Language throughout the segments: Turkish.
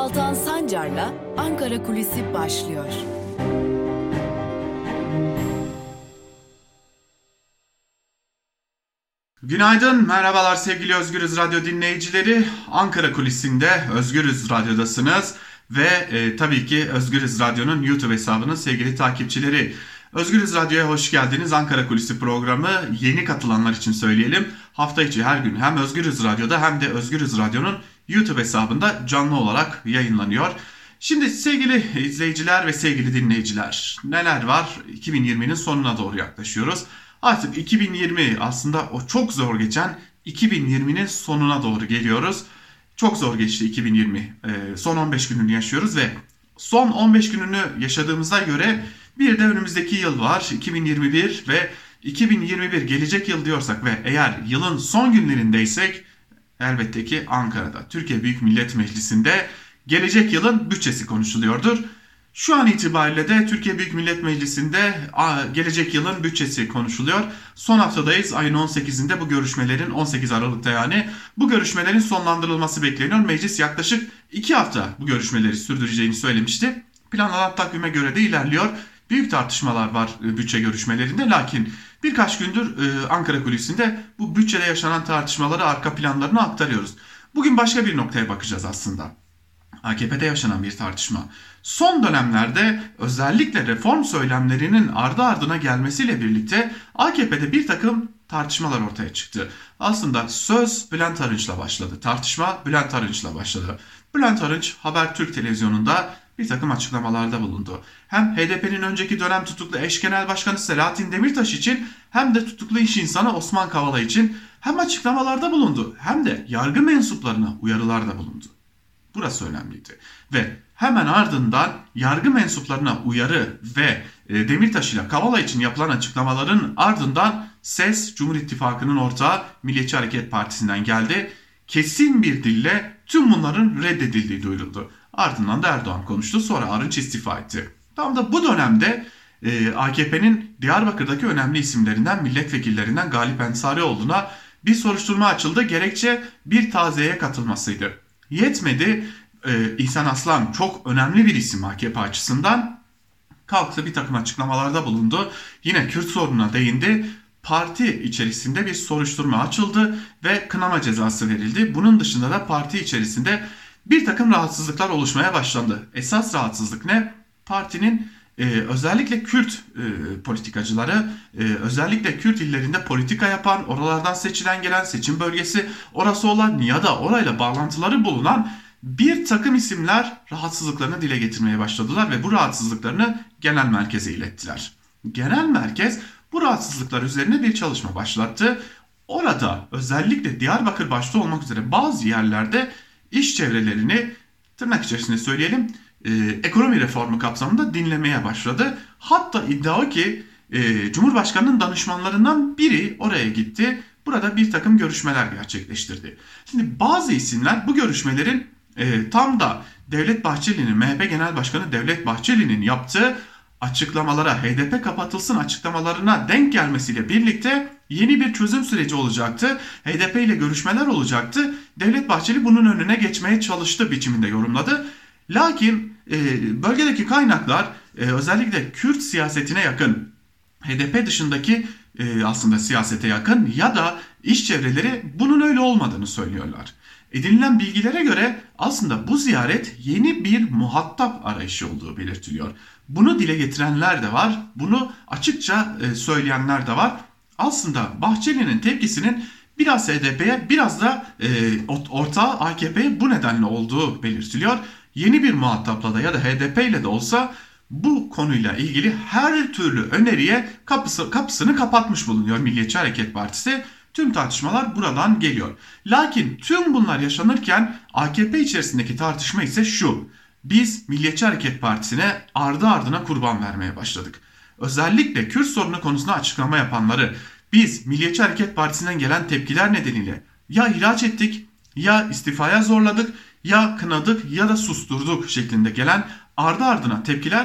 Altan Sancar'la Ankara Kulisi başlıyor. Günaydın, merhabalar sevgili Özgürüz Radyo dinleyicileri. Ankara Kulisi'nde Özgürüz Radyo'dasınız ve tabii ki Özgürüz Radyo'nun YouTube hesabının sevgili takipçileri. Özgürüz Radyo'ya hoş geldiniz. Ankara Kulisi programı yeni katılanlar için söyleyelim. Hafta içi her gün hem Özgürüz Radyo'da hem de Özgürüz Radyo'nun YouTube hesabında canlı olarak yayınlanıyor. Şimdi sevgili izleyiciler ve sevgili dinleyiciler, neler var? 2020'nin sonuna doğru yaklaşıyoruz. Artık 2020 aslında o çok zor geçen 2020'nin sonuna doğru geliyoruz. Çok zor geçti 2020. Son 15 gününü yaşıyoruz ve son 15 gününü yaşadığımıza göre bir de önümüzdeki yıl var 2021 ve 2021 gelecek yıl diyorsak ve eğer yılın son günlerindeysek elbette ki Ankara'da Türkiye Büyük Millet Meclisi'nde gelecek yılın bütçesi konuşuluyordur. Şu an itibariyle de Türkiye Büyük Millet Meclisi'nde gelecek yılın bütçesi konuşuluyor. Son haftadayız. Ayın 18'inde bu görüşmelerin 18 Aralık'ta yani bu görüşmelerin sonlandırılması bekleniyor. Meclis yaklaşık 2 hafta bu görüşmeleri sürdüreceğini söylemişti. Planlanan takvime göre de ilerliyor. Büyük tartışmalar var bütçe görüşmelerinde. Lakin birkaç gündür Ankara Kulisi'nde bu bütçede yaşanan tartışmaları arka planlarını aktarıyoruz. Bugün başka bir noktaya bakacağız aslında. AKP'de yaşanan bir tartışma. Son dönemlerde özellikle reform söylemlerinin ardı ardına gelmesiyle birlikte AKP'de bir takım tartışmalar ortaya çıktı. Aslında söz Bülent Arınç'la başladı. Tartışma Bülent Arınç'la başladı. Bülent Arınç Habertürk televizyonunda bir takım açıklamalarda bulundu. Hem HDP'nin önceki dönem tutuklu eş genel başkanı Selahattin Demirtaş için hem de tutuklu iş insanı Osman Kavala için hem açıklamalarda bulundu hem de yargı mensuplarına uyarılarda bulundu. Burası önemliydi. Ve hemen ardından yargı mensuplarına uyarı ve Demirtaş ile Kavala için yapılan açıklamaların ardından ses Cumhur İttifakı'nın ortağı Milliyetçi Hareket Partisi'nden geldi. Kesin bir dille tüm bunların reddedildiği duyuruldu. Ardından da Erdoğan konuştu, sonra Arınç istifa etti. Tam da bu dönemde AKP'nin Diyarbakır'daki önemli isimlerinden, milletvekillerinden Galip Ensarioğlu'na bir soruşturma açıldı. Gerekçe bir taziyeye katılmasıydı. Yetmedi, İhsan Aslan çok önemli bir isim AKP açısından, kalktı bir takım açıklamalarda bulundu. Yine Kürt sorununa değindi. Parti içerisinde bir soruşturma açıldı ve kınama cezası verildi. Bunun dışında da parti içerisinde bir takım rahatsızlıklar oluşmaya başlandı. Esas rahatsızlık ne? Partinin özellikle Kürt politikacıları, özellikle Kürt illerinde politika yapan, oralardan seçilen gelen seçim bölgesi orası olan ya da orayla bağlantıları bulunan bir takım isimler rahatsızlıklarını dile getirmeye başladılar ve bu rahatsızlıklarını genel merkeze ilettiler. Genel merkez bu rahatsızlıklar üzerine bir çalışma başlattı. Orada özellikle Diyarbakır başta olmak üzere bazı yerlerde iş çevrelerini, tırnak içerisinde söyleyelim, ekonomi reformu kapsamında dinlemeye başladı. Hatta iddia o ki Cumhurbaşkanı'nın danışmanlarından biri oraya gitti. Burada bir takım görüşmeler gerçekleştirdi. Şimdi bazı isimler bu görüşmelerin tam da Devlet Bahçeli'nin, MHP Genel Başkanı Devlet Bahçeli'nin yaptığı açıklamalara, HDP kapatılsın açıklamalarına denk gelmesiyle birlikte yeni bir çözüm süreci olacaktı. HDP ile görüşmeler olacaktı. Devlet Bahçeli bunun önüne geçmeye çalıştı biçiminde yorumladı. Lakin bölgedeki kaynaklar özellikle Kürt siyasetine yakın, HDP dışındaki aslında siyasete yakın ya da iş çevreleri bunun öyle olmadığını söylüyorlar. Edinilen bilgilere göre aslında bu ziyaret yeni bir muhatap arayışı olduğu belirtiliyor. Bunu dile getirenler de var, bunu açıkça söyleyenler de var. Aslında Bahçeli'nin tepkisinin biraz HDP'ye biraz da ortağı AKP'ye bu nedenle olduğu belirtiliyor. Yeni bir muhatapla da ya da HDP ile de olsa bu konuyla ilgili her türlü öneriye kapısını kapatmış bulunuyor Milliyetçi Hareket Partisi. Tüm tartışmalar buradan geliyor. Lakin tüm bunlar yaşanırken AKP içerisindeki tartışma ise şu: biz Milliyetçi Hareket Partisi'ne ardı ardına kurban vermeye başladık. Özellikle Kürt sorunu konusunda açıklama yapanları biz Milliyetçi Hareket Partisi'nden gelen tepkiler nedeniyle ya ihraç ettik, ya istifaya zorladık, ya kınadık ya da susturduk şeklinde gelen ardı ardına tepkiler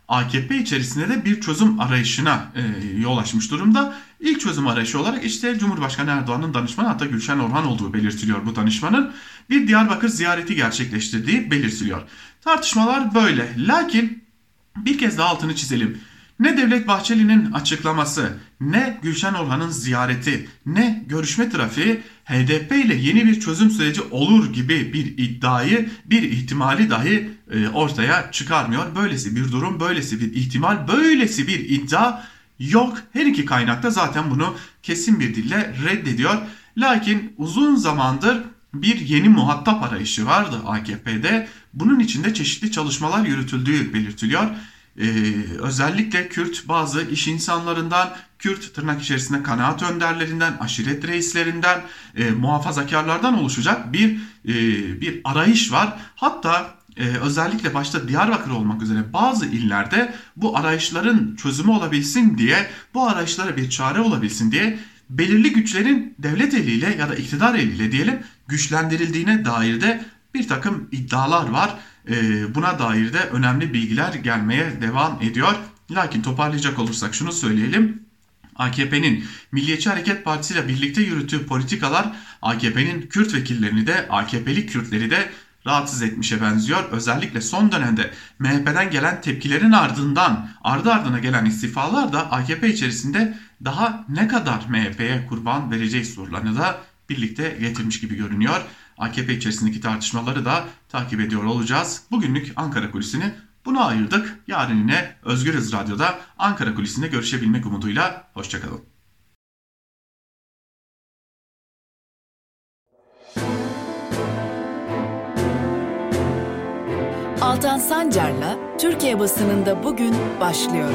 AKP içerisinde de bir çözüm arayışına yol açmış durumda. İlk çözüm arayışı olarak işte Cumhurbaşkanı Erdoğan'ın danışmanı, hatta Gülşen Orhan olduğu belirtiliyor bu danışmanın. Bir Diyarbakır ziyareti gerçekleştirdiği belirtiliyor. Tartışmalar böyle. Lakin bir kez daha altını çizelim. Ne Devlet Bahçeli'nin açıklaması, ne Gülşen Orhan'ın ziyareti, ne görüşme trafiği HDP ile yeni bir çözüm süreci olur gibi bir iddiayı, bir ihtimali dahi ortaya çıkarmıyor. Böylesi bir durum, böylesi bir ihtimal, böylesi bir iddia yok. Her iki kaynak da zaten bunu kesin bir dille reddediyor. Lakin uzun zamandır bir yeni muhatap arayışı vardı AKP'de. Bunun içinde çeşitli çalışmalar yürütüldüğü belirtiliyor. Özellikle Kürt bazı iş insanlarından, Kürt tırnak içerisinde kanaat önderlerinden, aşiret reislerinden, muhafazakarlardan oluşacak bir arayış var. Hatta özellikle başta Diyarbakır olmak üzere bazı illerde bu arayışların çözümü olabilsin diye, bu arayışlara bir çare olabilsin diye belirli güçlerin devlet eliyle ya da iktidar eliyle diyelim güçlendirildiğine dair de bir takım iddialar var. Buna dair de önemli bilgiler gelmeye devam ediyor. Lakin toparlayacak olursak şunu söyleyelim. AKP'nin Milliyetçi Hareket Partisi ile birlikte yürüttüğü politikalar AKP'nin Kürt vekillerini de AKP'li Kürtleri de rahatsız etmişe benziyor. Özellikle son dönemde MHP'den gelen tepkilerin ardından ardı ardına gelen istifalar da AKP içerisinde daha ne kadar MHP'ye kurban vereceği sorularını da birlikte getirmiş gibi görünüyor. AKP içerisindeki tartışmaları da takip ediyor olacağız. Bugünlük Ankara Kulisi'ni buna ayırdık. Yarın yine Özgürüz Radyo'da Ankara Kulisi'nde görüşebilmek umuduyla. Hoşçakalın. Altan Sancar'la Türkiye basınında bugün başlıyor.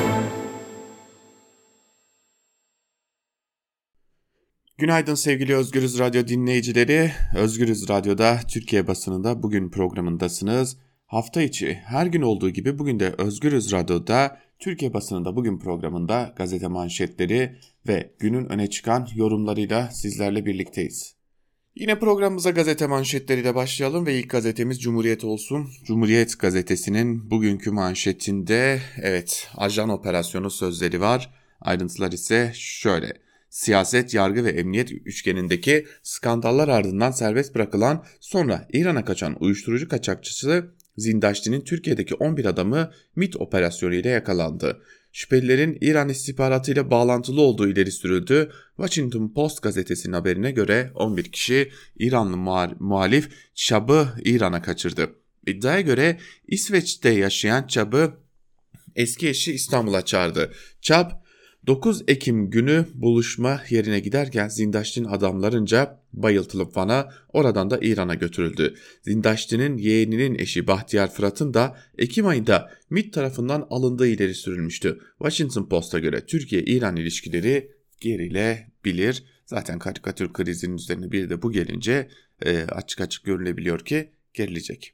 Günaydın sevgili Özgürüz Radyo dinleyicileri. Özgürüz Radyo'da Türkiye basınında bugün programındasınız. Hafta içi her gün olduğu gibi bugün de Özgürüz Radyo'da Türkiye basınında bugün programında gazete manşetleri ve günün öne çıkan yorumlarıyla sizlerle birlikteyiz. Yine programımıza gazete manşetleriyle başlayalım ve ilk gazetemiz Cumhuriyet olsun. Cumhuriyet gazetesinin bugünkü manşetinde ajan operasyonu sözleri var. Ayrıntılar ise şöyle. Siyaset, yargı ve emniyet üçgenindeki skandallar ardından serbest bırakılan sonra İran'a kaçan uyuşturucu kaçakçısı Zindaşti'nin Türkiye'deki 11 adamı MİT operasyonu ile yakalandı. Şüphelilerin İran istihbaratı ile bağlantılı olduğu ileri sürüldü. Washington Post gazetesinin haberine göre 11 kişi İranlı muhalif Çab'ı İran'a kaçırdı. İddiaya göre İsveç'te yaşayan Çab'ı eski eşi İstanbul'a çağırdı. Çab 9 Ekim günü buluşma yerine giderken Zindaşti'nin adamlarınca bayıltılıp Van'a, oradan da İran'a götürüldü. Zindaşti'nin yeğeninin eşi Bahtiyar Fırat'ın da Ekim ayında MİT tarafından alındığı ileri sürülmüştü. Washington Post'a göre Türkiye-İran ilişkileri gerilebilir. Zaten karikatür krizinin üzerine bir de bu gelince açık açık görülebiliyor ki gerilecek.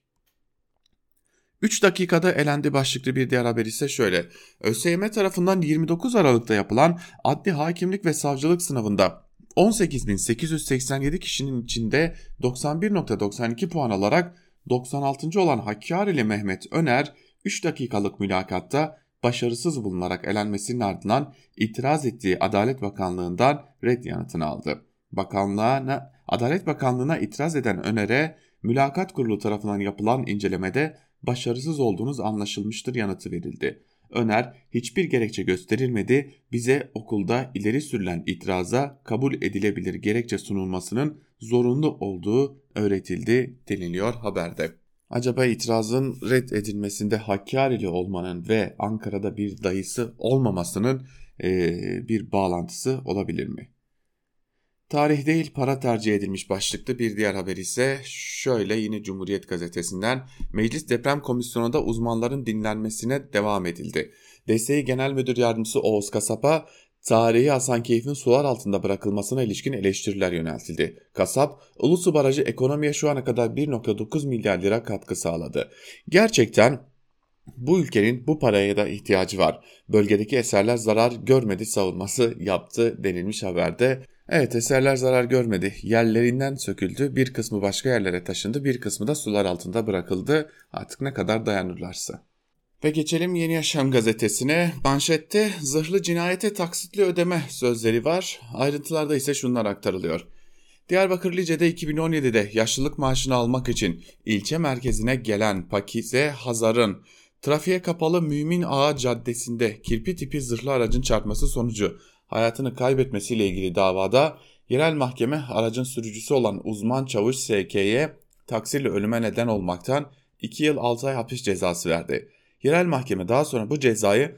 3 dakikada elendi başlıklı bir diğer haber ise şöyle. ÖSYM tarafından 29 Aralık'ta yapılan adli hakimlik ve savcılık sınavında 18.887 kişinin içinde 91.92 puan alarak 96. olan Hakkari'li Mehmet Öner 3 dakikalık mülakatta başarısız bulunarak elenmesinin ardından itiraz ettiği Adalet Bakanlığı'ndan red yanıtını aldı. Adalet Bakanlığı'na itiraz eden Öner'e mülakat kurulu tarafından yapılan incelemede başarısız olduğunuz anlaşılmıştır yanıtı verildi. Öner, hiçbir gerekçe gösterilmedi, bize okulda ileri sürülen itiraza kabul edilebilir gerekçe sunulmasının zorunlu olduğu öğretildi deniliyor haberde. Acaba itirazın red edilmesinde Hakkari'li olmanın ve Ankara'da bir dayısı olmamasının bir bağlantısı olabilir mi? Tarih değil para tercih edilmiş başlıklı bir diğer haber ise şöyle, yine Cumhuriyet gazetesinden: Meclis Deprem Komisyonu'nda uzmanların dinlenmesine devam edildi. DSİ Genel Müdür Yardımcısı Oğuz Kasap'a tarihi Hasankeyf'in sular altında bırakılmasına ilişkin eleştiriler yöneltildi. Kasap, Ulusu Barajı ekonomiye şu ana kadar 1,9 milyar lira katkı sağladı. Gerçekten bu ülkenin bu paraya da ihtiyacı var. Bölgedeki eserler zarar görmedi savunması yaptı denilmiş haberde. Evet, eserler zarar görmedi. Yerlerinden söküldü. Bir kısmı başka yerlere taşındı. Bir kısmı da sular altında bırakıldı. Artık ne kadar dayanırlarsa. Ve geçelim Yeni Yaşam gazetesine. Manşette zırhlı cinayete taksitli ödeme sözleri var. Ayrıntılarda ise şunlar aktarılıyor. Diyarbakır Lice'de 2017'de yaşlılık maaşını almak için ilçe merkezine gelen Pakize Hazar'ın trafiğe kapalı Mümin Ağa Caddesi'nde kirpi tipi zırhlı aracın çarpması sonucu hayatını kaybetmesiyle ilgili davada yerel mahkeme aracın sürücüsü olan uzman çavuş S.K.'ye taksirle ölüme neden olmaktan 2 yıl 6 ay hapis cezası verdi. Yerel mahkeme daha sonra bu cezayı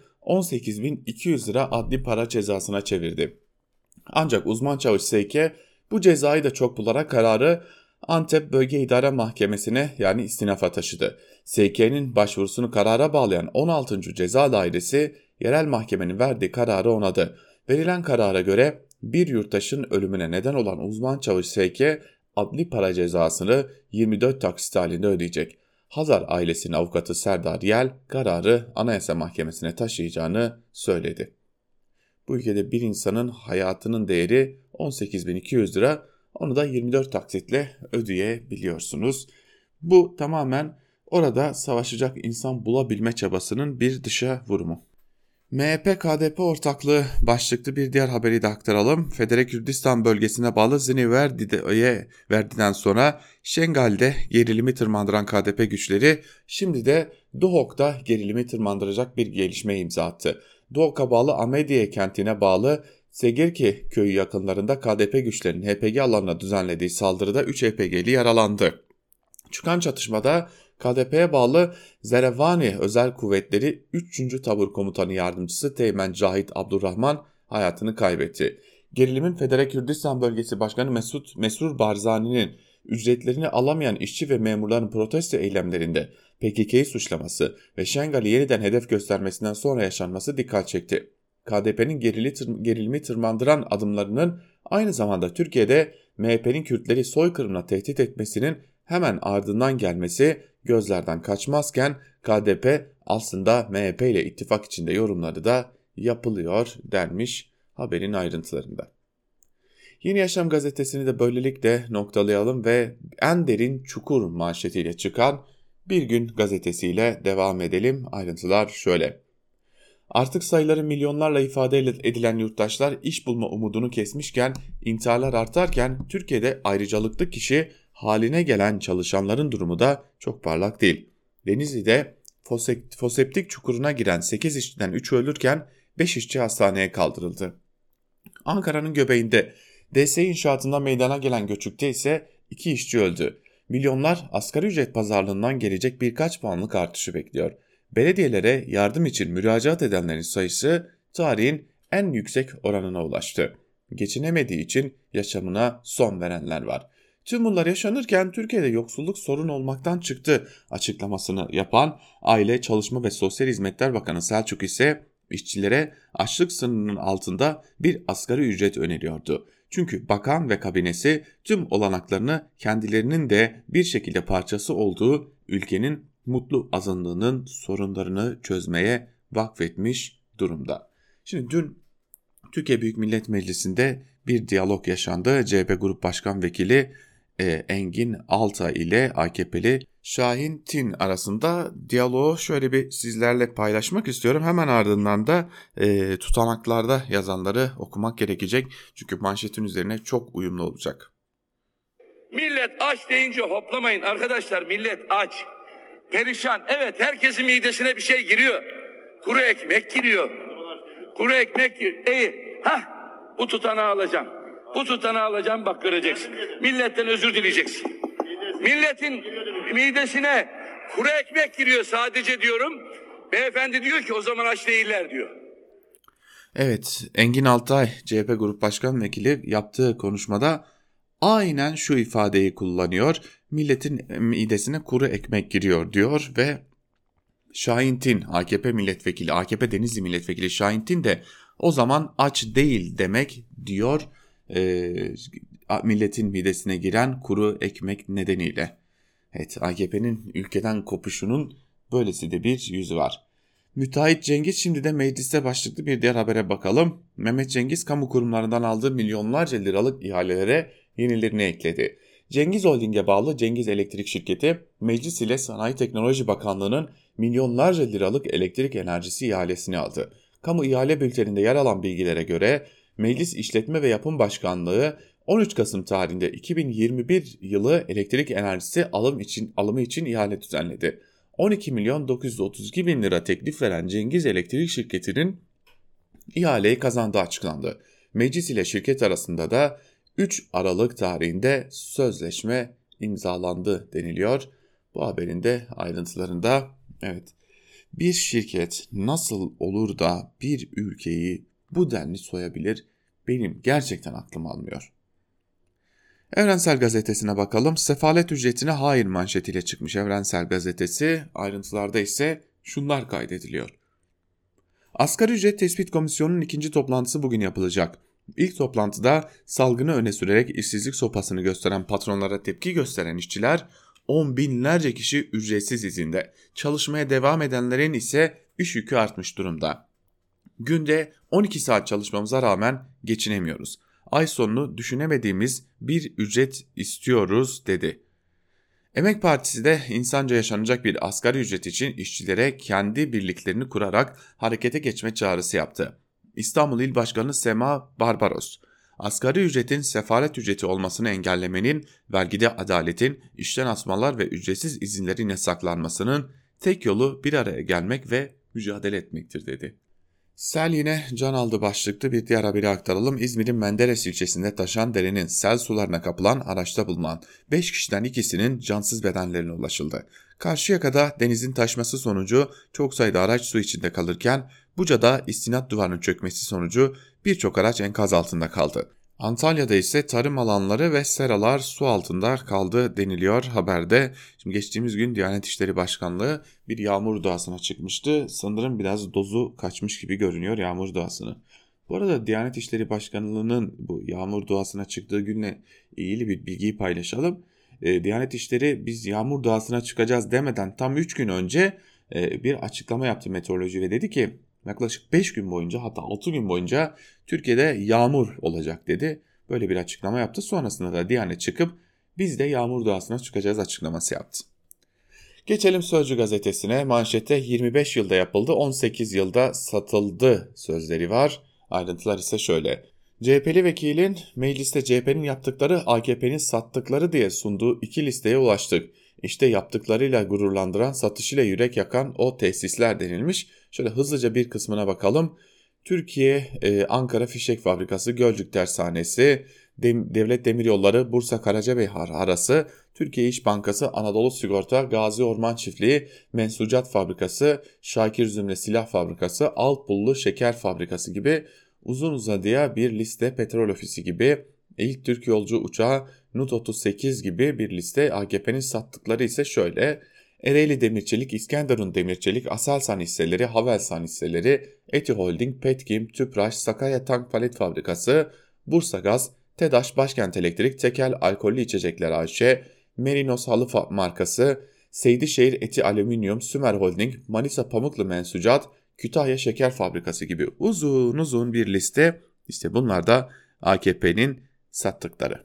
18.200 lira adli para cezasına çevirdi. Ancak uzman çavuş S.K. bu cezayı da çok bularak kararı Antep Bölge İdare Mahkemesi'ne yani istinafa taşıdı. S.K.'nin başvurusunu karara bağlayan 16. Ceza Dairesi yerel mahkemenin verdiği kararı onadı. Verilen karara göre bir yurttaşın ölümüne neden olan uzman çavuş S.K. adli para cezasını 24 taksit halinde ödeyecek. Hazar ailesinin avukatı Serdar Yel kararı Anayasa Mahkemesi'ne taşıyacağını söyledi. Bu ülkede bir insanın hayatının değeri 18.200 lira, onu da 24 taksitle ödeyebiliyorsunuz. Bu tamamen orada savaşacak insan bulabilme çabasının bir dışa vurumu. MHP-KDP ortaklığı başlıklı bir diğer haberi de aktaralım. Federe Kürdistan bölgesine bağlı Ziniverdi'den sonra Şengal'de gerilimi tırmandıran KDP güçleri şimdi de Duhok'ta gerilimi tırmandıracak bir gelişmeye imza attı. Duhok'a bağlı Amediye kentine bağlı Segirki köyü yakınlarında KDP güçlerinin HPG alanına düzenlediği saldırıda 3 HPG'li yaralandı. Çıkan çatışmada KDP'ye bağlı Zerevani Özel Kuvvetleri 3. Tabur Komutanı Yardımcısı Teğmen Cahit Abdurrahman hayatını kaybetti. Gerilimin Federe Kürdistan Bölgesi Başkanı Mesrur Barzani'nin ücretlerini alamayan işçi ve memurların protesto eylemlerinde PKK'yı suçlaması ve Şengal'i yeniden hedef göstermesinden sonra yaşanması dikkat çekti. KDP'nin gerilimi tırmandıran adımlarının aynı zamanda Türkiye'de MHP'nin Kürtleri soykırımla tehdit etmesinin hemen ardından gelmesi gözlerden kaçmazken KDP aslında MHP ile ittifak içinde yorumları da yapılıyor denmiş haberin ayrıntılarında. Yeni Yaşam gazetesini de böylelikle noktalayalım ve en derin çukur manşetiyle çıkan Bir Gün gazetesiyle devam edelim. Ayrıntılar şöyle. Artık sayıları milyonlarla ifade edilen yurttaşlar iş bulma umudunu kesmişken, intiharlar artarken Türkiye'de ayrıcalıklı kişi haline gelen çalışanların durumu da çok parlak değil. Denizli'de foseptik çukuruna giren 8 işçiden 3'ü ölürken 5 işçi hastaneye kaldırıldı. Ankara'nın göbeğinde DS inşaatında meydana gelen göçükte ise 2 işçi öldü. Milyonlar asgari ücret pazarlığından gelecek birkaç puanlık artışı bekliyor. Belediyelere yardım için müracaat edenlerin sayısı tarihin en yüksek oranına ulaştı. Geçinemediği için yaşamına son verenler var. Tüm bunlar yaşanırken Türkiye'de yoksulluk sorun olmaktan çıktı açıklamasını yapan Aile, Çalışma ve Sosyal Hizmetler Bakanı Selçuk ise işçilere açlık sınırının altında bir asgari ücret öneriyordu. Çünkü bakan ve kabinesi tüm olanaklarını kendilerinin de bir şekilde parçası olduğu ülkenin mutlu azınlığının sorunlarını çözmeye vakfetmiş durumda. Şimdi dün Türkiye Büyük Millet Meclisi'nde bir diyalog yaşandı. CHP Grup Başkan Vekili Engin Altay ile AKP'li Şahin Tin arasında diyaloğu şöyle bir sizlerle paylaşmak istiyorum. Hemen ardından da tutanaklarda yazanları okumak gerekecek. Çünkü manşetin üzerine çok uyumlu olacak. Millet aç deyince hoplamayın arkadaşlar, millet aç. Perişan. Evet, herkesin midesine bir şey giriyor. Kuru ekmek giriyor. Kuru ekmek giriyor. Bu tutanağı alacağım. Bu tutanağı alacağım, bak göreceksin. Milletten özür dileyeceksin. Milletin midesine kuru ekmek giriyor sadece diyorum. Beyefendi diyor ki o zaman aç değiller diyor. Evet, Engin Altay CHP Grup Başkan Vekili yaptığı konuşmada aynen şu ifadeyi kullanıyor. Milletin midesine kuru ekmek giriyor diyor ve Şahin Tin, AKP milletvekili, AKP Denizli milletvekili Şahin Tin de o zaman aç değil demek diyor milletin midesine giren kuru ekmek nedeniyle. Evet, AKP'nin ülkeden kopuşunun böylesi de bir yüzü var. Müteahhit Cengiz şimdi de mecliste başlıklı bir diğer habere bakalım. Mehmet Cengiz kamu kurumlarından aldığı milyonlarca liralık ihalelere yenilerini ekledi. Cengiz Holding'e bağlı Cengiz Elektrik Şirketi, Meclis ile Sanayi Teknoloji Bakanlığı'nın milyonlarca liralık elektrik enerjisi ihalesini aldı. Kamu ihale bülteninde yer alan bilgilere göre Meclis İşletme ve Yapım Başkanlığı 13 Kasım tarihinde 2021 yılı elektrik enerjisi alımı için ihale düzenledi. 12 milyon 932 bin lira teklif veren Cengiz Elektrik Şirketi'nin ihaleyi kazandığı açıklandı. Meclis ile şirket arasında da 3 Aralık tarihinde sözleşme imzalandı deniliyor. Bu haberin de ayrıntılarında bir şirket nasıl olur da bir ülkeyi bu denli soyabilir, benim gerçekten aklım almıyor. Evrensel Gazetesi'ne bakalım. Sefalet ücretine hayır manşetiyle çıkmış Evrensel Gazetesi. Ayrıntılarda ise şunlar kaydediliyor. Asgari Ücret Tespit Komisyonu'nun ikinci toplantısı bugün yapılacak. İlk toplantıda salgını öne sürerek işsizlik sopasını gösteren patronlara tepki gösteren işçiler, on binlerce kişi ücretsiz izinde. Çalışmaya devam edenlerin ise iş yükü artmış durumda. Günde 12 saat çalışmamıza rağmen geçinemiyoruz. Ay sonunu düşünemediğimiz bir ücret istiyoruz dedi. Emek Partisi de insanca yaşanacak bir asgari ücret için işçilere kendi birliklerini kurarak harekete geçme çağrısı yaptı. İstanbul İl Başkanı Sema Barbaros, asgari ücretin sefalet ücreti olmasını engellemenin, vergide adaletin, işten asmalar ve ücretsiz izinlerin yasaklanmasının tek yolu bir araya gelmek ve mücadele etmektir dedi. Sel yine can aldı başlıklı bir diğer haberi aktaralım. İzmir'in Menderes ilçesinde taşan derenin sel sularına kapılan araçta bulunan 5 kişiden ikisinin cansız bedenlerine ulaşıldı. Karşıyaka'da denizin taşması sonucu çok sayıda araç su içinde kalırken Buca'da istinat duvarının çökmesi sonucu birçok araç enkaz altında kaldı. Antalya'da ise tarım alanları ve seralar su altında kaldı deniliyor haberde. Şimdi geçtiğimiz gün Diyanet İşleri Başkanlığı bir yağmur duasına çıkmıştı. Sanırım biraz dozu kaçmış gibi görünüyor yağmur duasını. Bu arada Diyanet İşleri Başkanlığı'nın bu yağmur duasına çıktığı günle ilgili bir bilgiyi paylaşalım. Diyanet İşleri biz yağmur duasına çıkacağız demeden tam 3 gün önce bir açıklama yaptı meteoroloji ve dedi ki yaklaşık 5 gün boyunca, hatta 6 gün boyunca Türkiye'de yağmur olacak dedi. Böyle bir açıklama yaptı. Sonrasında da Diyanet çıkıp biz de yağmur duasına çıkacağız açıklaması yaptı. Geçelim Sözcü gazetesine. Manşette 25 yılda yapıldı, 18 yılda satıldı sözleri var. Ayrıntılar ise şöyle. CHP'li vekilin mecliste CHP'nin yaptıkları AKP'nin sattıkları diye sunduğu 2 listeye ulaştık. İşte yaptıklarıyla gururlandıran, satışıyla yürek yakan o tesisler denilmiş. Şöyle hızlıca bir kısmına bakalım. Türkiye Ankara Fişek Fabrikası, Gölcük Tersanesi, Devlet Demiryolları, Bursa Karacabey arası, Türkiye İş Bankası, Anadolu Sigorta, Gazi Orman Çiftliği, Mensucat Fabrikası, Şakir Zümre Silah Fabrikası, Alpullu Şeker Fabrikası gibi uzun uzadıya bir liste, Petrol Ofisi gibi, İlk Türk Yolcu Uçağı, Nut 38 gibi bir liste. AKP'nin sattıkları ise şöyle: Ereğli Demirçelik, İskenderun Demirçelik, Aselsan hisseleri, Havelsan hisseleri, Eti Holding, Petkim, Tüpraş, Sakarya Tank Palet Fabrikası, Bursa Gaz, TEDAŞ, Başkent Elektrik, Tekel Alkollü İçecekler AŞ, Merinos Halı markası, Seydişehir Eti Alüminyum, Sümer Holding, Manisa Pamuklu Mensucat, Kütahya Şeker Fabrikası gibi uzun bir liste. İşte bunlar da AKP'nin sattıkları.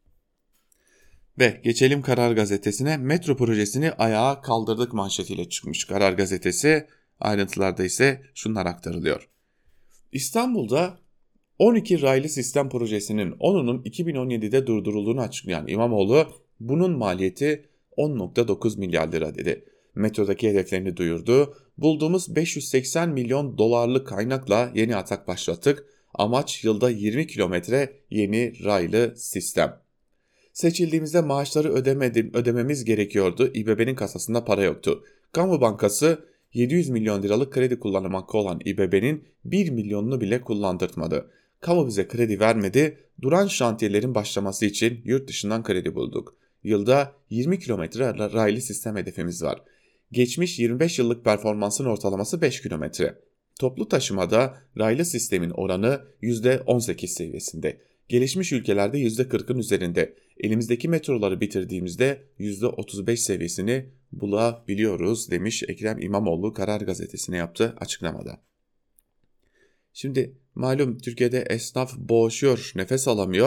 Ve geçelim Karar Gazetesi'ne. Metro projesini ayağa kaldırdık manşetiyle çıkmış Karar Gazetesi. Ayrıntılarda ise şunlar aktarılıyor. İstanbul'da 12 raylı sistem projesinin 10'unun 2017'de durdurulduğunu açıklayan İmamoğlu, bunun maliyeti 10.9 milyar lira dedi. Metrodaki hedeflerini duyurdu. Bulduğumuz 580 milyon dolarlık kaynakla yeni atak başlattık. Amaç yılda 20 kilometre yeni raylı sistem. Seçildiğimizde maaşları ödememiz gerekiyordu. İBB'nin kasasında para yoktu. Kamu Bankası 700 milyon liralık kredi kullanmakta olan İBB'nin 1 milyonunu bile kullandırtmadı. Kamu bize kredi vermedi. Duran şantiyelerin başlaması için yurt dışından kredi bulduk. Yılda 20 kilometre raylı sistem hedefimiz var. Geçmiş 25 yıllık performansın ortalaması 5 kilometre. Toplu taşımada raylı sistemin oranı %18 seviyesinde. Gelişmiş ülkelerde %40'ın üzerinde. Elimizdeki metroları bitirdiğimizde %35 seviyesini bulabiliyoruz demiş Ekrem İmamoğlu Karar Gazetesi'ne yaptığı açıklamada. Şimdi malum Türkiye'de esnaf boğuşuyor, nefes alamıyor.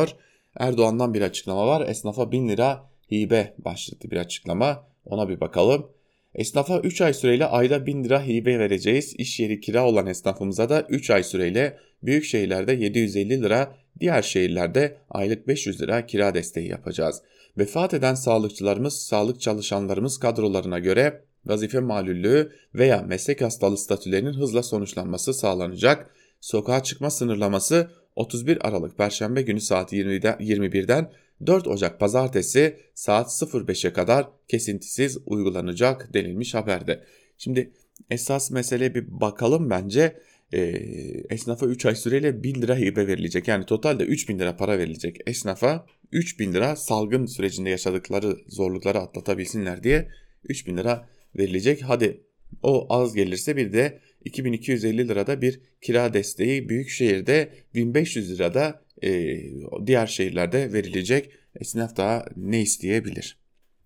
Erdoğan'dan bir açıklama var. Esnafa 1000 lira hibe başlıklı bir açıklama. Ona bir bakalım. Esnafa 3 ay süreyle ayda 1000 lira hibe vereceğiz. İş yeri kira olan esnafımıza da 3 ay süreyle büyük şehirlerde 750 lira, diğer şehirlerde aylık 500 lira kira desteği yapacağız. Vefat eden sağlıkçılarımız, sağlık çalışanlarımız kadrolarına göre vazife malüllüğü veya meslek hastalığı statülerinin hızla sonuçlanması sağlanacak. Sokağa çıkma sınırlaması 31 Aralık Perşembe günü saat 21'den 4 Ocak Pazartesi saat 05'e kadar kesintisiz uygulanacak denilmiş haberde. Şimdi esas meseleye bir bakalım bence. Esnafa 3 ay süreyle 1000 lira hibe verilecek. Yani totalde 3000 lira para verilecek esnafa. 3000 lira salgın sürecinde yaşadıkları zorlukları atlatabilsinler diye 3000 lira verilecek. Hadi o az gelirse bir de 2250 lirada bir kira desteği, büyükşehirde 1500 lirada diğer şehirlerde verilecek. Esnaf daha ne isteyebilir?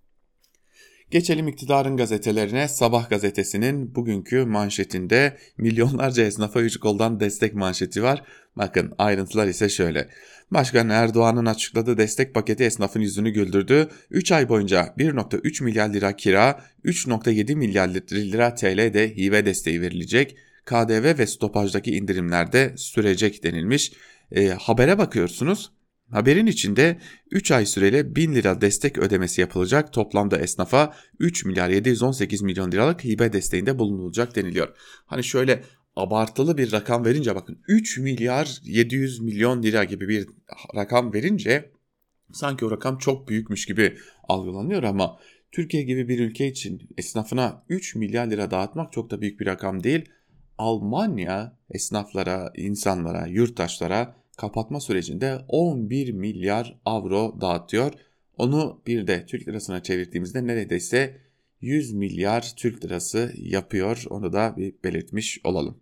Geçelim iktidarın gazetelerine. Sabah gazetesinin bugünkü manşetinde milyonlarca esnafa 3 koldan destek manşeti var. Bakın ayrıntılar ise şöyle. Başkan Erdoğan'ın açıkladığı destek paketi esnafın yüzünü güldürdü. 3 ay boyunca 1.3 milyar lira kira, 3.7 milyar lira TL de hibe desteği verilecek. KDV ve stopajdaki indirimler de sürecek denilmiş. Habere bakıyorsunuz. Haberin içinde 3 ay süreyle 1000 lira destek ödemesi yapılacak. Toplamda esnafa 3 milyar 718 milyon liralık hibe desteğinde bulunulacak deniliyor. Hani şöyle abartılı bir rakam verince bakın 3 milyar 700 milyon lira gibi bir rakam verince sanki o rakam çok büyükmüş gibi algılanıyor ama Türkiye gibi bir ülke için esnafına 3 milyar lira dağıtmak çok da büyük bir rakam değil. Almanya esnaflara, insanlara, yurttaşlara kapatma sürecinde 11 milyar avro dağıtıyor. Onu bir de Türk lirasına çevirdiğimizde neredeyse 100 milyar Türk lirası yapıyor. Onu da bir belirtmiş olalım.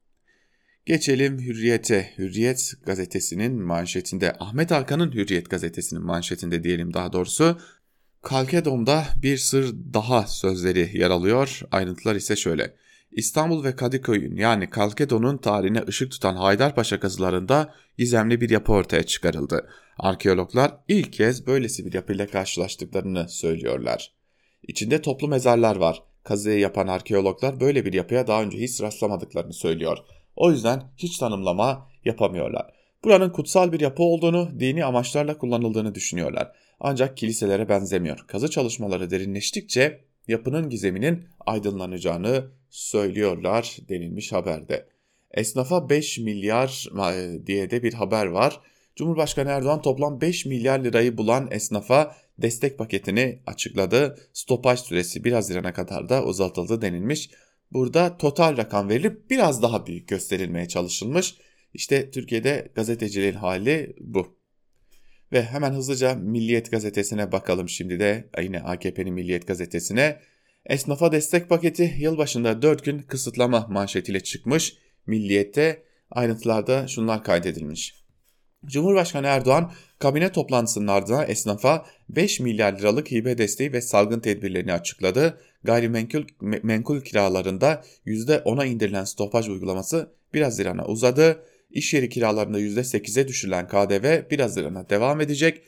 Geçelim Hürriyet'e. Hürriyet gazetesinin manşetinde, Ahmet Hakan'ın Hürriyet gazetesinin manşetinde diyelim daha doğrusu, Kalkedon'da bir sır daha sözleri yer alıyor. Ayrıntılar ise şöyle. İstanbul ve Kadıköy'ün yani Kalkedon'un tarihine ışık tutan Haydarpaşa kazılarında gizemli bir yapı ortaya çıkarıldı. Arkeologlar ilk kez böylesi bir yapıyla karşılaştıklarını söylüyorlar. İçinde toplu mezarlar var. Kazıyı yapan arkeologlar böyle bir yapıya daha önce hiç rastlamadıklarını söylüyor. O yüzden hiç tanımlama yapamıyorlar. Buranın kutsal bir yapı olduğunu, dini amaçlarla kullanıldığını düşünüyorlar. Ancak kiliselere benzemiyor. Kazı çalışmaları derinleştikçe yapının gizeminin aydınlanacağını söylüyorlar denilmiş haberde. Esnafa 5 milyar diye de bir haber var. Cumhurbaşkanı Erdoğan toplam 5 milyar lirayı bulan esnafa destek paketini açıkladı. Stopaj süresi 1 Haziran'a kadar da uzatıldı denilmiş. Burada total rakam verilip biraz daha büyük gösterilmeye çalışılmış. İşte Türkiye'de gazeteciliğin hali bu. Ve hemen hızlıca Milliyet gazetesine bakalım şimdi de, yine AKP'nin Milliyet gazetesine. Esnafa destek paketi yılbaşında 4 gün kısıtlama manşetiyle çıkmış. Milliyet'te ayrıntılarda şunlar kaydedilmiş. Cumhurbaşkanı Erdoğan kabine toplantısının ardından esnafa 5 milyar liralık hibe desteği ve salgın tedbirlerini açıkladı. Gayrimenkul kiralarında %10'a indirilen stopaj uygulaması 1 Haziran'a uzadı. İş yeri kiralarında %8'e düşürülen KDV 1 Haziran'a devam edecek.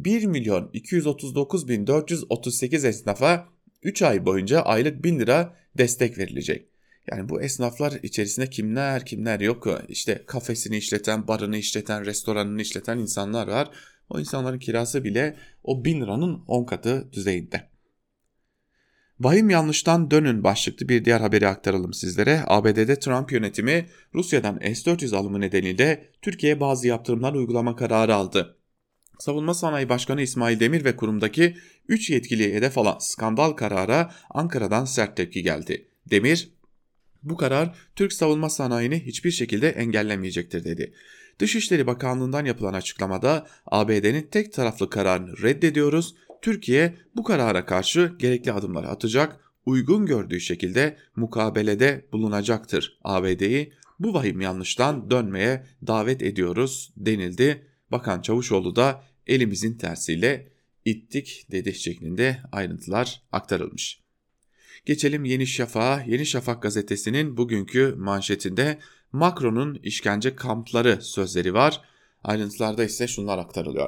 1.239.438 esnafa 3 ay boyunca aylık 1000 lira destek verilecek. Yani bu esnaflar içerisinde kimler yok. İşte kafesini işleten, barını işleten, restoranını işleten insanlar var. O insanların kirası bile o 1000 liranın 10 katı düzeyinde. Vahim yanlıştan dönün başlıklı bir diğer haberi aktaralım sizlere. ABD'de Trump yönetimi Rusya'dan S-400 alımı nedeniyle Türkiye'ye bazı yaptırımlar uygulama kararı aldı. Savunma Sanayi Başkanı İsmail Demir ve kurumdaki 3 yetkiliye hedef alan skandal karara Ankara'dan sert tepki geldi. Demir, bu karar Türk savunma sanayini hiçbir şekilde engellemeyecektir dedi. Dışişleri Bakanlığı'ndan yapılan açıklamada ABD'nin tek taraflı kararını reddediyoruz. Türkiye bu karara karşı gerekli adımları atacak, uygun gördüğü şekilde mukabelede bulunacaktır. ABD'yi bu vahim yanlıştan dönmeye davet ediyoruz denildi. Bakan Çavuşoğlu da elimizin tersiyle ittik dedi şeklinde ayrıntılar aktarılmış. Geçelim Yeni Şafak'a. Yeni Şafak gazetesinin bugünkü manşetinde Macron'un işkence kampları sözleri var. Ayrıntılarda ise şunlar aktarılıyor.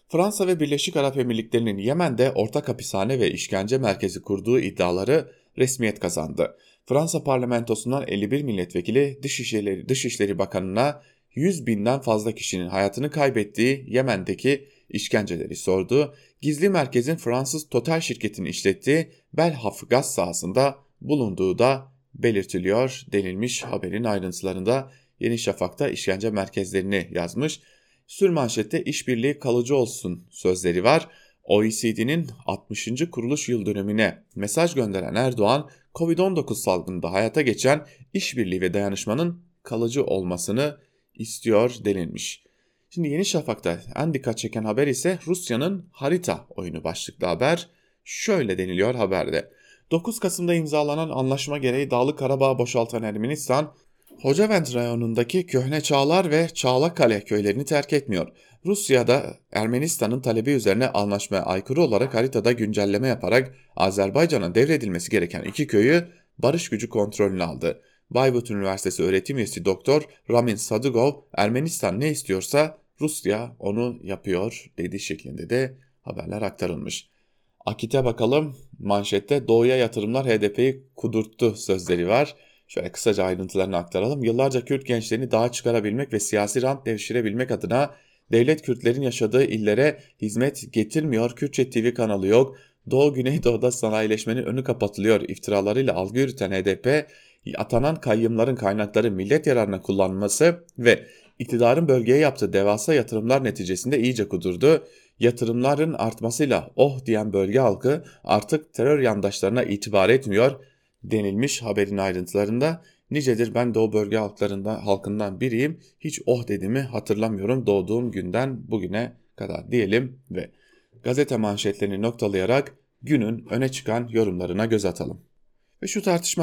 Fransa ve Birleşik Arap Emirlikleri'nin Yemen'de ortak hapishane ve işkence merkezi kurduğu iddiaları resmiyet kazandı. Fransa parlamentosundan 51 milletvekili Dışişleri Bakanı'na 100 binden fazla kişinin hayatını kaybettiği Yemen'deki işkenceleri sordu. Gizli merkezin Fransız Total şirketinin işlettiği Belhaf gaz sahasında bulunduğu da belirtiliyor denilmiş haberin ayrıntılarında. Yeni Şafak'ta işkence merkezlerini yazmış. Sürmanşette işbirliği kalıcı olsun sözleri var. OECD'nin 60. kuruluş yıl dönümüne mesaj gönderen Erdoğan, Covid-19 salgınında hayata geçen işbirliği ve dayanışmanın kalıcı olmasını istiyor denilmiş. Şimdi Yeni Şafak'ta en dikkat çeken haber ise Rusya'nın harita oyunu başlıklı haber. Şöyle deniliyor haberde. 9 Kasım'da imzalanan anlaşma gereği Dağlık Karabağ'ı boşaltan Ermenistan, Hocavent rayonundaki Köhne Çağlar ve Çağlakale köylerini terk etmiyor. Rusya da Ermenistan'ın talebi üzerine anlaşmaya aykırı olarak haritada güncelleme yaparak Azerbaycan'a devredilmesi gereken 2 köyü barış gücü kontrolüne aldı. Bayburt Üniversitesi öğretim üyesi Doktor Ramin Sadıgov, Ermenistan ne istiyorsa Rusya onu yapıyor dediği şeklinde de haberler aktarılmış. Akit'e bakalım, manşette doğuya yatırımlar HDP'yi kudurttu sözleri var. Şöyle kısaca ayrıntılarını aktaralım. Yıllarca Kürt gençlerini dağa çıkarabilmek ve siyasi rant devşirebilmek adına devlet Kürtlerin yaşadığı illere hizmet getirmiyor, Kürtçe TV kanalı yok, Doğu Güneydoğu'da sanayileşmenin önü kapatılıyor iftiralarıyla algı yürüten HDP, atanan kayyımların kaynakları millet yararına kullanılması ve iktidarın bölgeye yaptığı devasa yatırımlar neticesinde iyice kudurdu. Yatırımların artmasıyla oh diyen bölge halkı artık terör yandaşlarına itibar etmiyor denilmiş haberin ayrıntılarında. Nicedir ben de o bölge halkından biriyim. Hiç oh dediğimi hatırlamıyorum doğduğum günden bugüne kadar diyelim ve gazete manşetlerini noktalayarak günün öne çıkan yorumlarına göz atalım. Ve şu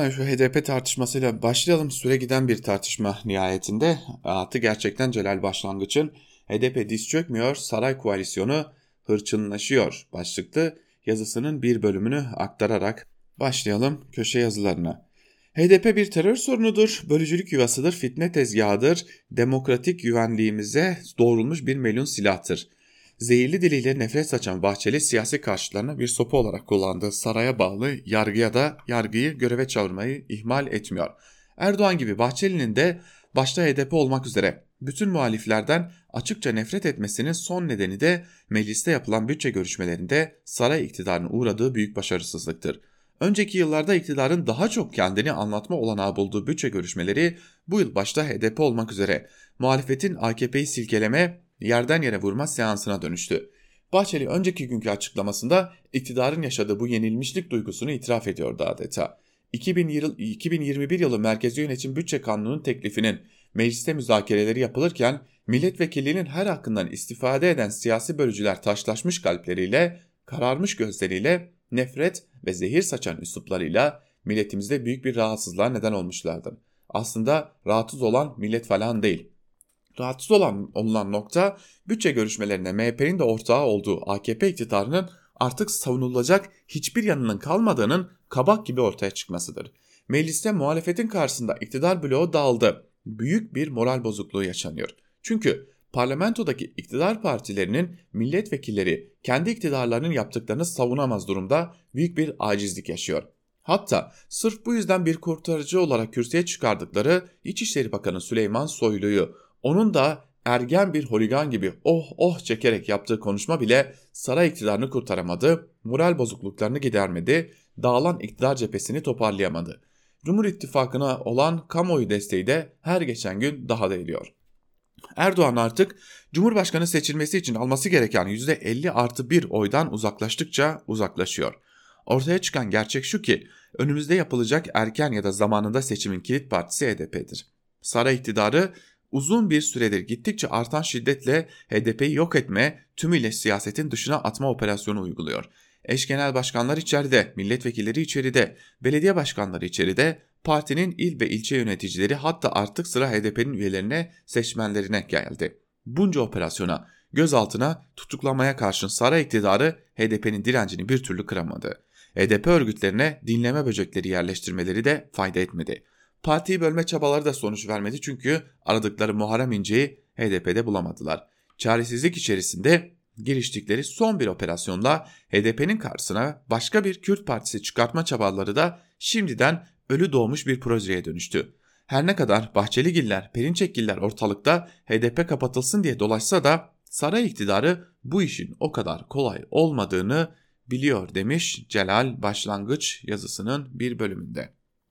HDP tartışmasıyla başlayalım. Süre giden bir tartışma nihayetinde. Atı gerçekten celal başlangıçın. HDP diz çökmüyor, saray koalisyonu hırçınlaşıyor başlıklı yazısının bir bölümünü aktararak başlayalım köşe yazılarına. HDP bir terör sorunudur, bölücülük yuvasıdır, fitne tezgahıdır, demokratik güvenliğimize doğrulmuş bir melun silahtır. Zehirli diliyle nefret saçan Bahçeli siyasi karşıtlarına bir sopa olarak kullandığı saraya bağlı yargıyı göreve çağırmayı ihmal etmiyor. Erdoğan gibi Bahçeli'nin de başta HDP olmak üzere bütün muhaliflerden açıkça nefret etmesinin son nedeni de mecliste yapılan bütçe görüşmelerinde saray iktidarının uğradığı büyük başarısızlıktır. Önceki yıllarda iktidarın daha çok kendini anlatma olanağı bulduğu bütçe görüşmeleri bu yıl başta HDP olmak üzere muhalefetin AKP'yi silkeleme, yerden yere vurma seansına dönüştü. Bahçeli önceki günkü açıklamasında iktidarın yaşadığı bu yenilmişlik duygusunu itiraf ediyordu adeta. 2021 yılı Merkezi Yönetim Bütçe Kanunu'nun teklifinin mecliste müzakereleri yapılırken milletvekilliğinin her hakkından istifade eden siyasi bölücüler taşlaşmış kalpleriyle, kararmış gözleriyle, nefret ve zehir saçan üsluplarıyla milletimizde büyük bir rahatsızlığa neden olmuşlardı. Aslında rahatsız olan millet falan değil. Rahatsız olunan nokta bütçe görüşmelerinde MHP'nin de ortağı olduğu AKP iktidarının artık savunulacak hiçbir yanının kalmadığının kabak gibi ortaya çıkmasıdır. Mecliste muhalefetin karşısında iktidar bloğu dağıldı. Büyük bir moral bozukluğu yaşanıyor. Çünkü parlamentodaki iktidar partilerinin milletvekilleri kendi iktidarlarının yaptıklarını savunamaz durumda büyük bir acizlik yaşıyor. Hatta sırf bu yüzden bir kurtarıcı olarak kürsüye çıkardıkları İçişleri Bakanı Süleyman Soylu'yu, onun da ergen bir holigan gibi oh çekerek yaptığı konuşma bile saray iktidarını kurtaramadı, moral bozukluklarını gidermedi, dağılan iktidar cephesini toparlayamadı. Cumhur İttifakı'na olan kamuoyu desteği de her geçen gün daha da eriyor. Erdoğan artık Cumhurbaşkanı seçilmesi için alması gereken %50+1 oydan uzaklaştıkça uzaklaşıyor. Ortaya çıkan gerçek şu ki önümüzde yapılacak erken ya da zamanında seçimin kilit partisi HDP'dir. Saray iktidarı uzun bir süredir gittikçe artan şiddetle HDP'yi yok etme, tümüyle siyasetin dışına atma operasyonu uyguluyor. Eş genel başkanlar içeride, milletvekilleri içeride, belediye başkanları içeride, partinin il ve ilçe yöneticileri hatta artık sıra HDP'nin üyelerine, seçmenlerine geldi. Bunca operasyona, gözaltına, tutuklamaya karşın saray iktidarı HDP'nin direncini bir türlü kıramadı. HDP örgütlerine dinleme böcekleri yerleştirmeleri de fayda etmedi. Partiyi bölme çabaları da sonuç vermedi çünkü aradıkları Muharrem İnce'yi HDP'de bulamadılar. Çaresizlik içerisinde giriştikleri son bir operasyonda HDP'nin karşısına başka bir Kürt partisi çıkartma çabaları da şimdiden ölü doğmuş bir projeye dönüştü. Her ne kadar Bahçeligiller, Perinçekgiller ortalıkta HDP kapatılsın diye dolaşsa da saray iktidarı bu işin o kadar kolay olmadığını biliyor demiş Celal başlangıç yazısının bir bölümünde.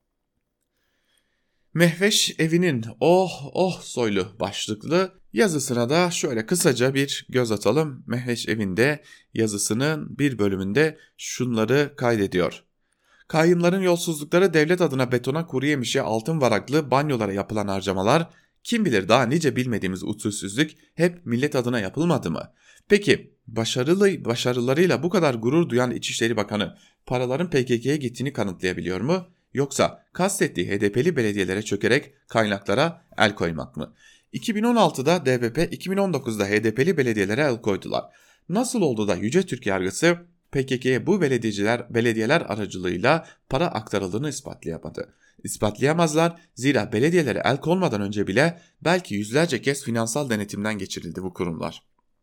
Mehveş Evi'nin oh soylu başlıklı yazısına da şöyle kısaca bir göz atalım. Mehveş Evi'nde yazısının bir bölümünde şunları kaydediyor. Kayyımların yolsuzlukları, devlet adına betona, kuru yemişe, altın varaklı banyolara yapılan harcamalar, kim bilir daha nice bilmediğimiz usulsüzlük hep millet adına yapılmadı mı? Peki başarılarıyla bu kadar gurur duyan İçişleri Bakanı paraların PKK'ye gittiğini kanıtlayabiliyor mu? Yoksa kastettiği HDP'li belediyelere çökerek kaynaklara el koymak mı? 2016'da DBP, 2019'da HDP'li belediyelere el koydular. Nasıl oldu da Yüce Türk Yargısı PKK'ye bu belediyeler aracılığıyla para aktarıldığını ispatlayamadı? İspatlayamazlar, zira belediyelere el konmadan önce bile belki yüzlerce kez finansal denetimden geçirildi bu kurumlar.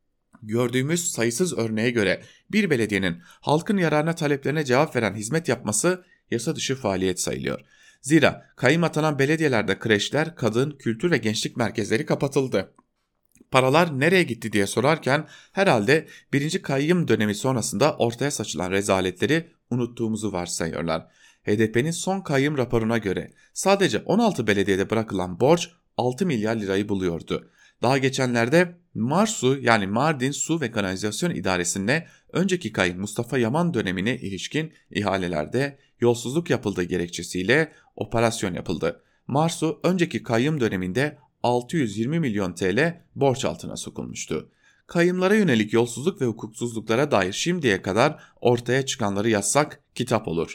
Gördüğümüz sayısız örneğe göre bir belediyenin halkın yararına taleplerine cevap veren hizmet yapması yasa dışı faaliyet sayılıyor. Zira kayyım atanan belediyelerde kreşler, kadın, kültür ve gençlik merkezleri kapatıldı. Paralar nereye gitti diye sorarken herhalde 1. kayyım dönemi sonrasında ortaya saçılan rezaletleri unuttuğumuzu varsayıyorlar. HDP'nin son kayyım raporuna göre sadece 16 belediyede bırakılan borç 6 milyar lirayı buluyordu. Daha geçenlerde MARSU yani Mardin Su ve Kanalizasyon İdaresi'nde önceki kayyım Mustafa Yaman dönemine ilişkin ihalelerde yolsuzluk yapıldığı gerekçesiyle operasyon yapıldı. MARSU önceki kayyım döneminde 620 milyon TL borç altına sokulmuştu. Kayyımlara yönelik yolsuzluk ve hukuksuzluklara dair şimdiye kadar ortaya çıkanları yazsak kitap olur.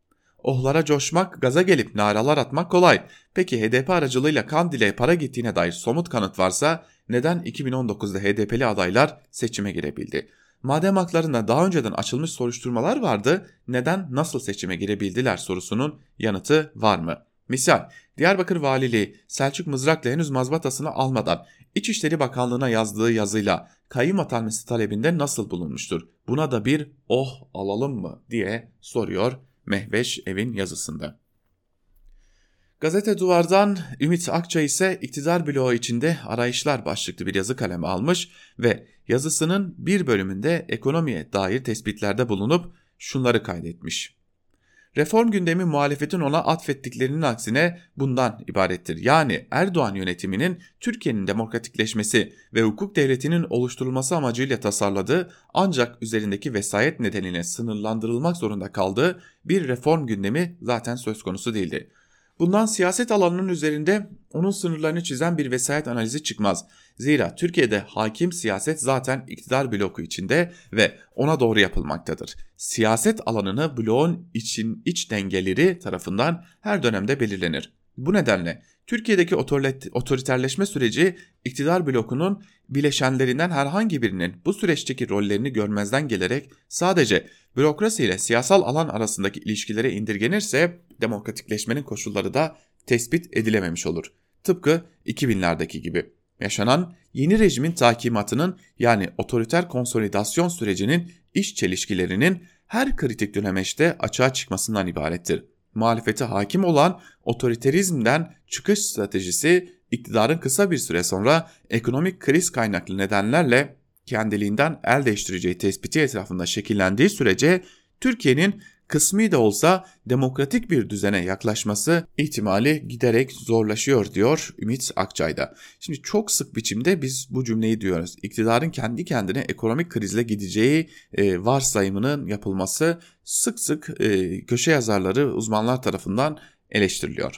Ohlara coşmak, gaza gelip naralar atmak kolay. Peki HDP aracılığıyla Kandil'e para gittiğine dair somut kanıt varsa neden 2019'da HDP'li adaylar seçime girebildi? Madem haklarında daha önceden açılmış soruşturmalar vardı, neden nasıl seçime girebildiler sorusunun yanıtı var mı? Misal, Diyarbakır Valiliği Selçuk Mızrak'la henüz mazbatasını almadan İçişleri Bakanlığı'na yazdığı yazıyla kayyım atanması talebinde nasıl bulunmuştur? Buna da bir alalım mı diye soruyor Mehveş Evin yazısında. Gazete Duvar'dan Ümit Akçay ise iktidar bloğu içinde arayışlar başlıklı bir yazı kaleme almış ve yazısının bir bölümünde ekonomiye dair tespitlerde bulunup şunları kaydetmiş. Reform gündemi muhalefetin ona atfettiklerinin aksine bundan ibarettir. Yani Erdoğan yönetiminin Türkiye'nin demokratikleşmesi ve hukuk devletinin oluşturulması amacıyla tasarladığı ancak üzerindeki vesayet nedeniyle sınırlandırılmak zorunda kaldığı bir reform gündemi zaten söz konusu değildi. Bundan siyaset alanının üzerinde onun sınırlarını çizen bir vesayet analizi çıkmaz. Zira Türkiye'de hakim siyaset zaten iktidar bloku içinde ve ona doğru yapılmaktadır. Siyaset alanını bloğun iç dengeleri tarafından her dönemde belirlenir. Bu nedenle Türkiye'deki otoriterleşme süreci iktidar blokunun bileşenlerinden herhangi birinin bu süreçteki rollerini görmezden gelerek sadece bürokrasi ile siyasal alan arasındaki ilişkilere indirgenirse demokratikleşmenin koşulları da tespit edilememiş olur. Tıpkı 2000'lerdeki gibi. Yaşanan yeni rejimin takimatının yani otoriter konsolidasyon sürecinin iç çelişkilerinin her kritik dönemeçte açığa çıkmasından ibarettir. Muhalefete hakim olan otoriterizmden çıkış stratejisi iktidarın kısa bir süre sonra ekonomik kriz kaynaklı nedenlerle kendiliğinden el değiştireceği tespiti etrafında şekillendiği sürece Türkiye'nin kısmi de olsa demokratik bir düzene yaklaşması ihtimali giderek zorlaşıyor diyor Ümit Akçay'da. Şimdi çok sık biçimde biz bu cümleyi diyoruz. İktidarın kendi kendine ekonomik krizle gideceği varsayımının yapılması sık sık köşe yazarları, uzmanlar tarafından eleştiriliyor.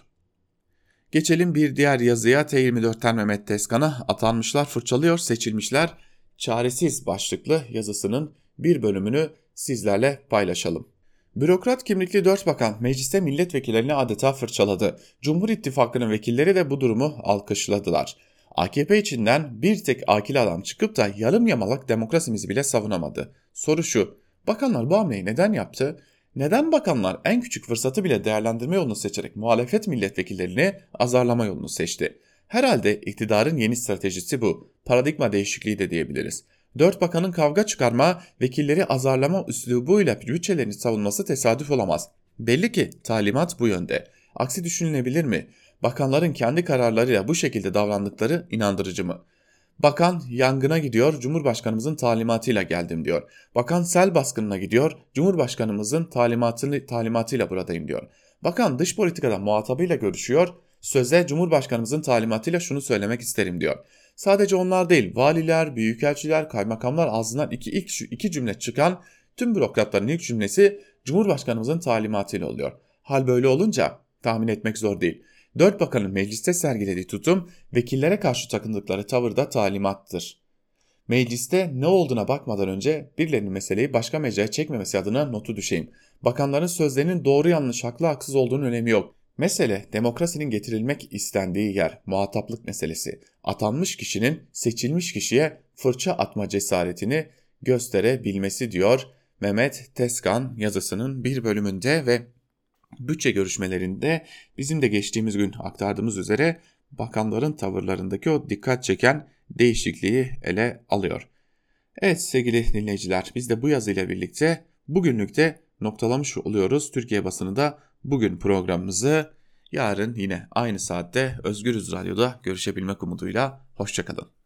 Geçelim bir diğer yazıya. T24'ten Mehmet Tezkan'a atanmışlar fırçalıyor, seçilmişler çaresiz başlıklı yazısının bir bölümünü sizlerle paylaşalım. Bürokrat kimlikli 4 bakan mecliste milletvekillerini adeta fırçaladı. Cumhur İttifakı'nın vekilleri de bu durumu alkışladılar. AKP içinden bir tek akil adam çıkıp da yarım yamalak demokrasimizi bile savunamadı. Soru şu, bakanlar bu hamleyi neden yaptı? Neden bakanlar en küçük fırsatı bile değerlendirme yolunu seçerek muhalefet milletvekillerini azarlama yolunu seçti? Herhalde iktidarın yeni stratejisi bu. Paradigma değişikliği de diyebiliriz. 4 bakanın kavga çıkarma, vekilleri azarlama üslubuyla bütçelerini savunması tesadüf olamaz. Belli ki talimat bu yönde. Aksi düşünülebilir mi? Bakanların kendi kararlarıyla bu şekilde davrandıkları inandırıcı mı? Bakan yangına gidiyor, Cumhurbaşkanımızın talimatıyla geldim diyor. Bakan sel baskınına gidiyor, Cumhurbaşkanımızın talimatıyla buradayım diyor. Bakan dış politikada muhatabıyla görüşüyor, söze Cumhurbaşkanımızın talimatıyla şunu söylemek isterim diyor. Sadece onlar değil, valiler, büyükelçiler, kaymakamlar ağzından iki cümle çıkan tüm bürokratların ilk cümlesi Cumhurbaşkanımızın talimatıyla oluyor. Hal böyle olunca tahmin etmek zor değil. 4 bakanın mecliste sergilediği tutum, vekillere karşı takındıkları tavırda talimattır. Mecliste ne olduğuna bakmadan önce birilerinin meseleyi başka mecraya çekmemesi adına notu düşeyim. Bakanların sözlerinin doğru yanlış, haklı haksız olduğunun önemi yok. Mesele demokrasinin getirilmek istendiği yer, muhataplık meselesi. Atanmış kişinin seçilmiş kişiye fırça atma cesaretini gösterebilmesi diyor Mehmet Tezkan yazısının bir bölümünde ve bütçe görüşmelerinde bizim de geçtiğimiz gün aktardığımız üzere bakanların tavırlarındaki o dikkat çeken değişikliği ele alıyor. Evet sevgili dinleyiciler, biz de bu yazıyla birlikte bugünlük de noktalamış oluyoruz. Türkiye basınında bugün programımızı, yarın yine aynı saatte Özgürüz Radyo'da görüşebilmek umuduyla hoşçakalın.